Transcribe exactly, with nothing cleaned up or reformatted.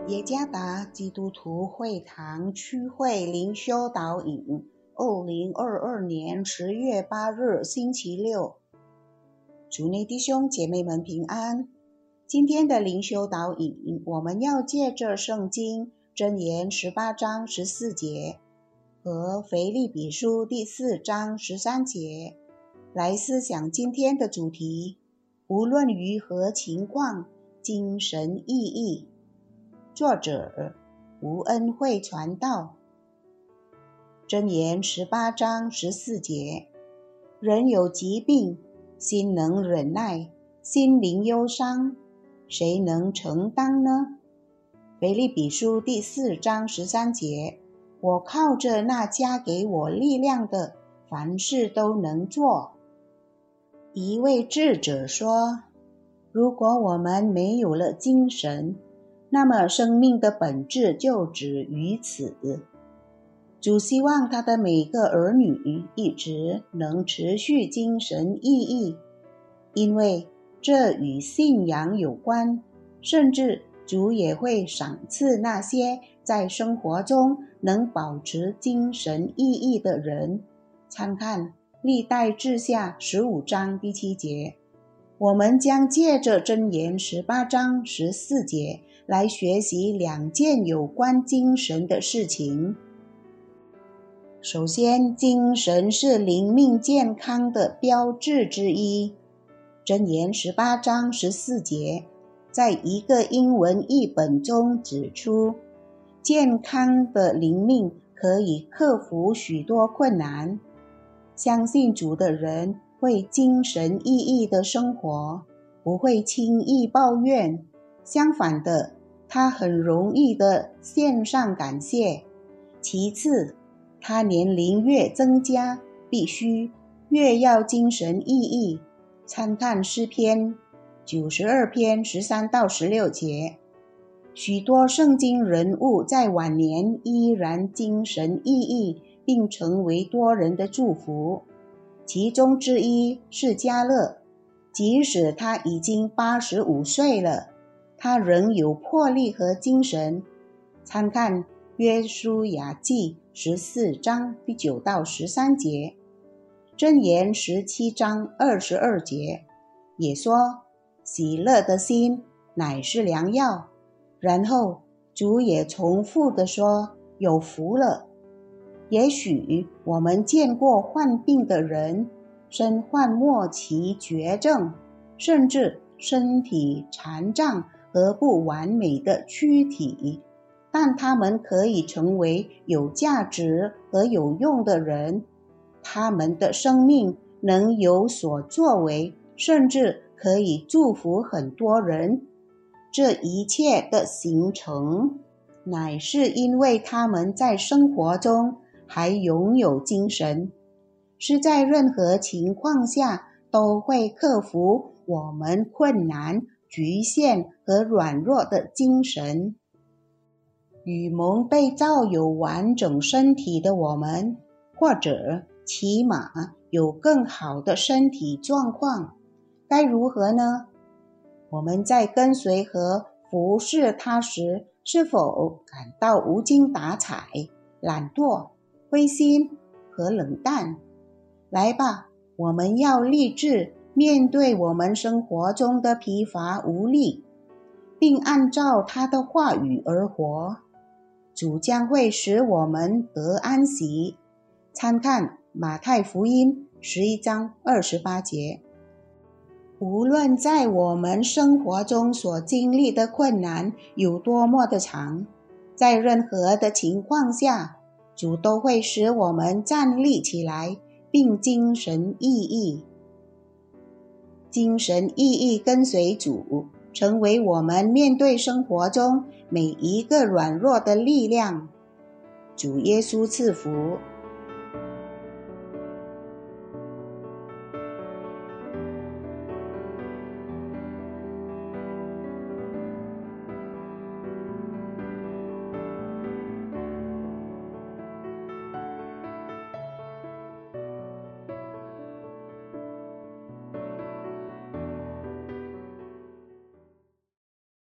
耶加达基督徒会堂区会灵修导引，二零二二年十月八日星期六。主内弟兄姐妹们平安。今天的灵修导引，我们要借着圣经箴言十八章十四节和腓立比书第四章十三节来思想今天的主题，无论于何情况，精神意义。作者吴恩惠传道。箴言十八章十四节，人有疾病，心能忍耐，心灵忧伤，谁能承担呢？腓立比书第四章十三节，我靠着那加给我力量的，凡事都能做。一位智者说，如果我们没有了精神，那么生命的本质就止于此。主希望他的每个儿女一直能持续精神意义，因为这与信仰有关，甚至主也会赏赐那些在生活中能保持精神意义的人。参看历代志下十五章第七节。我们将借着箴言十八章十四节来学习两件有关精神的事情。首先，精神是灵命健康的标志之一。箴言十八章十四节在一个英文译本中指出，健康的灵命可以克服许多困难。相信主的人会精神奕奕的生活，不会轻易抱怨，相反的，他很容易的献上感谢。其次，他年龄越增加，必须越要精神奕奕。参看诗篇九十二篇十三到十六节。许多圣经人物在晚年依然精神奕奕，并成为多人的祝福。其中之一是迦勒，即使他已经八十五岁了，他仍有魄力和精神。参看约书亚记十四章第九到十三节，箴言十七章二十二节也说，喜乐的心乃是良药。然后主也重复地说，有福了。也许我们见过患病的人，身患末期绝症，甚至身体残障和不完美的躯体，但他们可以成为有价值和有用的人。他们的生命能有所作为，甚至可以祝福很多人。这一切的形成，乃是因为他们在生活中还拥有精神，是在任何情况下都会克服我们困难、局限和软弱的精神。与蒙被造有完整身体的我们，或者起码有更好的身体状况，该如何呢？我们在跟随和服侍他时，是否感到无精打采、懒惰、灰心和冷淡？来吧，我们要立志面对我们生活中的疲乏无力，并按照他的话语而活。主将会使我们得安息。参看马太福音十一章二十八节。无论在我们生活中所经历的困难有多么的长，在任何的情况下，主都会使我们站立起来，并精神奕奕。精神奕奕跟随主，成为我们面对生活中每一个软弱的力量。主耶稣赐福。